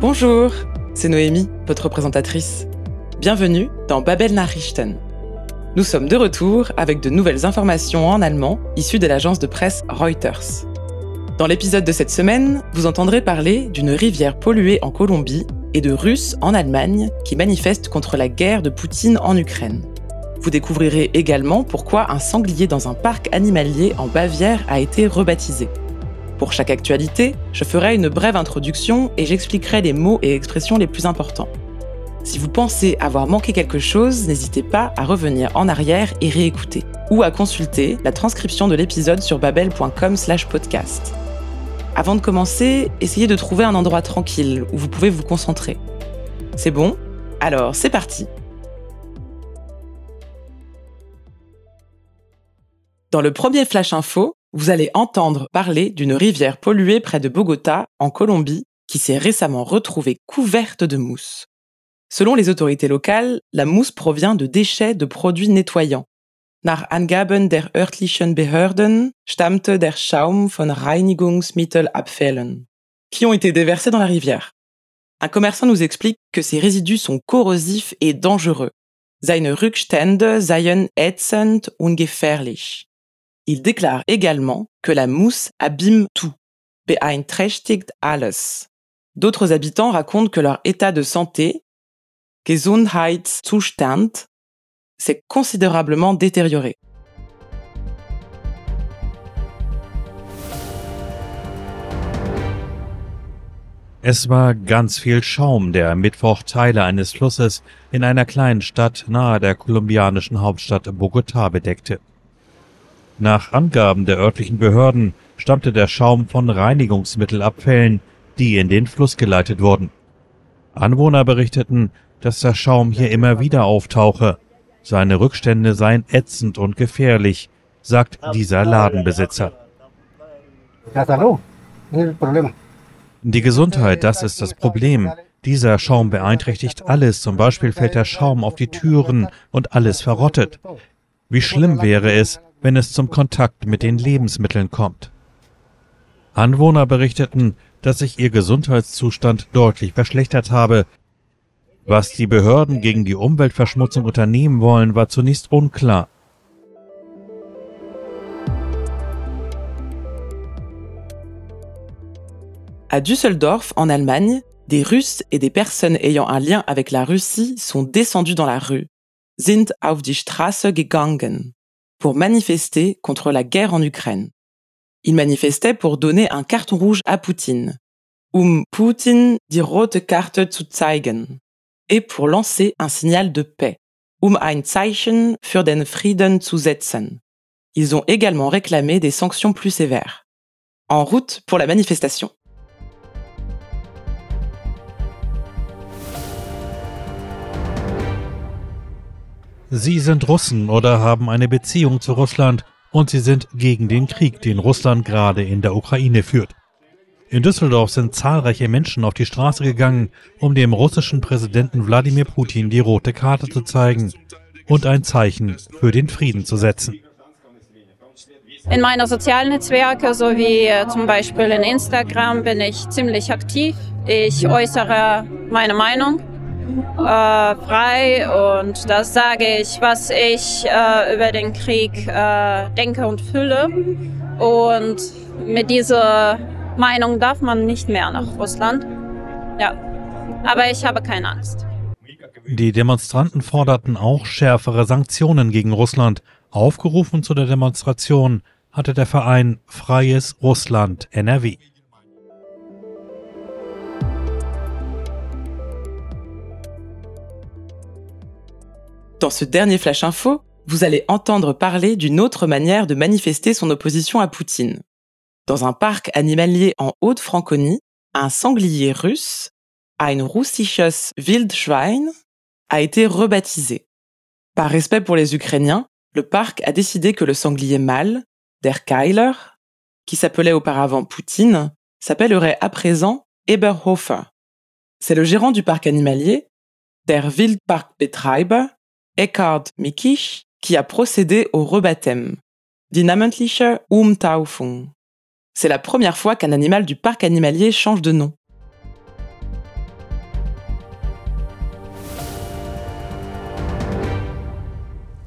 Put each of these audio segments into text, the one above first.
Bonjour, c'est Noémie, votre présentatrice. Bienvenue dans Babel Nachrichten. Nous sommes de retour avec de nouvelles informations en allemand issues de l'agence de presse Reuters. Dans l'épisode de cette semaine, vous entendrez parler d'une rivière polluée en Colombie et de Russes en Allemagne qui manifestent contre la guerre de Poutine en Ukraine. Vous découvrirez également pourquoi un sanglier dans un parc animalier en Bavière a été rebaptisé. Pour chaque actualité, je ferai une brève introduction et j'expliquerai les mots et expressions les plus importants. Si vous pensez avoir manqué quelque chose, n'hésitez pas à revenir en arrière et réécouter, ou à consulter la transcription de l'épisode sur babel.com/podcast. Avant de commencer, essayez de trouver un endroit tranquille où vous pouvez vous concentrer. C'est bon ? Alors, c'est parti ! Dans le premier Flash Info, vous allez entendre parler d'une rivière polluée près de Bogota, en Colombie, qui s'est récemment retrouvée couverte de mousse. Selon les autorités locales, la mousse provient de déchets de produits nettoyants. Nach Angaben der örtlichen Behörden stammte der Schaum von Reinigungsmittelabfällen, qui ont été déversés dans la rivière. Un commerçant nous explique que ces résidus sont corrosifs et dangereux. Seine Rückstände seien ätzend und gefährlich. Il déclare également que la mousse abîme tout, beeinträchtigt alles. D'autres habitants racontent que leur état de santé, Gesundheitszustand, s'est considérablement détérioré. Es war ganz viel Schaum, der am Mittwoch Teile eines Flusses in einer kleinen Stadt nahe der kolumbianischen Hauptstadt Bogotá bedeckte. Nach Angaben der örtlichen Behörden stammte der Schaum von Reinigungsmittelabfällen, die in den Fluss geleitet wurden. Anwohner berichteten, dass der Schaum hier immer wieder auftauche. Seine Rückstände seien ätzend und gefährlich, sagt dieser Ladenbesitzer. Die Gesundheit, das ist das Problem. Dieser Schaum beeinträchtigt alles, zum Beispiel fällt der Schaum auf die Türen und alles verrottet. Wie schlimm wäre es, wenn es zum Kontakt mit den Lebensmitteln kommt. Anwohner berichteten, dass sich ihr Gesundheitszustand deutlich verschlechtert habe. Was die Behörden gegen die Umweltverschmutzung unternehmen wollen, war zunächst unklar. À Düsseldorf, en Allemagne, des Russes et des personnes ayant un lien avec la Russie sont descendus dans la rue, sind auf die Straße gegangen, pour manifester contre la guerre en Ukraine. Ils manifestaient pour donner un carton rouge à Poutine, Putin die rote Karte zu zeigen, et pour lancer un signal de paix, ein Zeichen für den Frieden zu setzen. Ils ont également réclamé des sanctions plus sévères. En route pour la manifestation. Sie sind Russen oder haben eine Beziehung zu Russland und sie sind gegen den Krieg, den Russland gerade in der Ukraine führt. In Düsseldorf sind zahlreiche Menschen auf die Straße gegangen, um dem russischen Präsidenten Wladimir Putin die rote Karte zu zeigen und ein Zeichen für den Frieden zu setzen. In meinen sozialen Netzwerken, so wie zum Beispiel in Instagram, bin ich ziemlich aktiv. Ich äußere meine Meinung frei und das sage ich, was ich über den Krieg denke und fühle. Und mit dieser Meinung darf man nicht mehr nach Russland. Ja, aber ich habe keine Angst. Die Demonstranten forderten auch schärfere Sanktionen gegen Russland. Aufgerufen zu der Demonstration hatte der Verein Freies Russland NRW. Dans ce dernier Flash Info, vous allez entendre parler d'une autre manière de manifester son opposition à Poutine. Dans un parc animalier en Haute-Franconie, un sanglier russe, ein russisches Wildschwein, a été rebaptisé. Par respect pour les Ukrainiens, le parc a décidé que le sanglier mâle, der Keiler, qui s'appelait auparavant Poutine, s'appellerait à présent Eberhofer. C'est le gérant du parc animalier, der Wildparkbetreiber, Eckhard Mikisch, qui a procédé au rebaptême, die namentliche Umtaufung. C'est la première fois qu'un animal du parc animalier change de nom.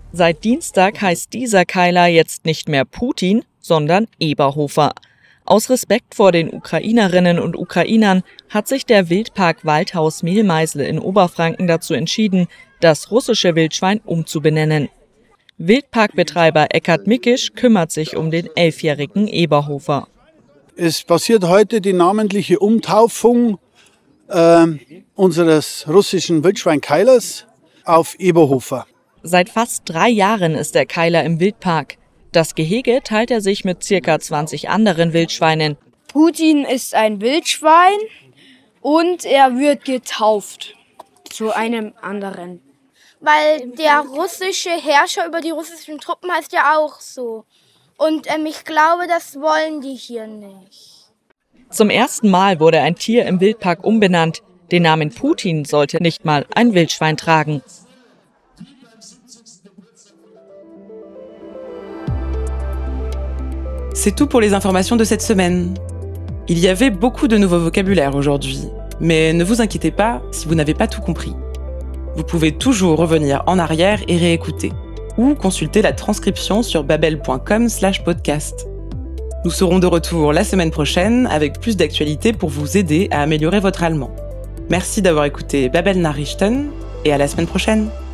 Seit Dienstag heißt dieser Keiler jetzt nicht mehr Putin, sondern Eberhofer. Aus Respekt vor den Ukrainerinnen und Ukrainern hat sich der Wildpark Waldhaus Mehlmeisel in Oberfranken dazu entschieden, das russische Wildschwein umzubenennen. Wildparkbetreiber Eckhard Mickisch kümmert sich um den 11-jährigen Eberhofer. Es passiert heute die namentliche Umtaufung unseres russischen Wildschweinkeilers auf Eberhofer. Seit fast 3 Jahren ist der Keiler im Wildpark. Das Gehege teilt er sich mit ca. 20 anderen Wildschweinen. Putin ist ein Wildschwein und er wird getauft zu einem anderen. Weil der russische Herrscher über die russischen Truppen heißt ja auch so. Und ich glaube, das wollen die hier nicht. Zum ersten Mal wurde ein Tier im Wildpark umbenannt. Den Namen Putin sollte nicht mal ein Wildschwein tragen. C'est tout pour les informations de cette semaine. Il y avait beaucoup de nouveaux vocabulaires aujourd'hui, mais ne vous inquiétez pas si vous n'avez pas tout compris. Vous pouvez toujours revenir en arrière et réécouter, ou consulter la transcription sur babel.com/podcast. Nous serons de retour la semaine prochaine avec plus d'actualités pour vous aider à améliorer votre allemand. Merci d'avoir écouté Babel Nachrichten et à la semaine prochaine.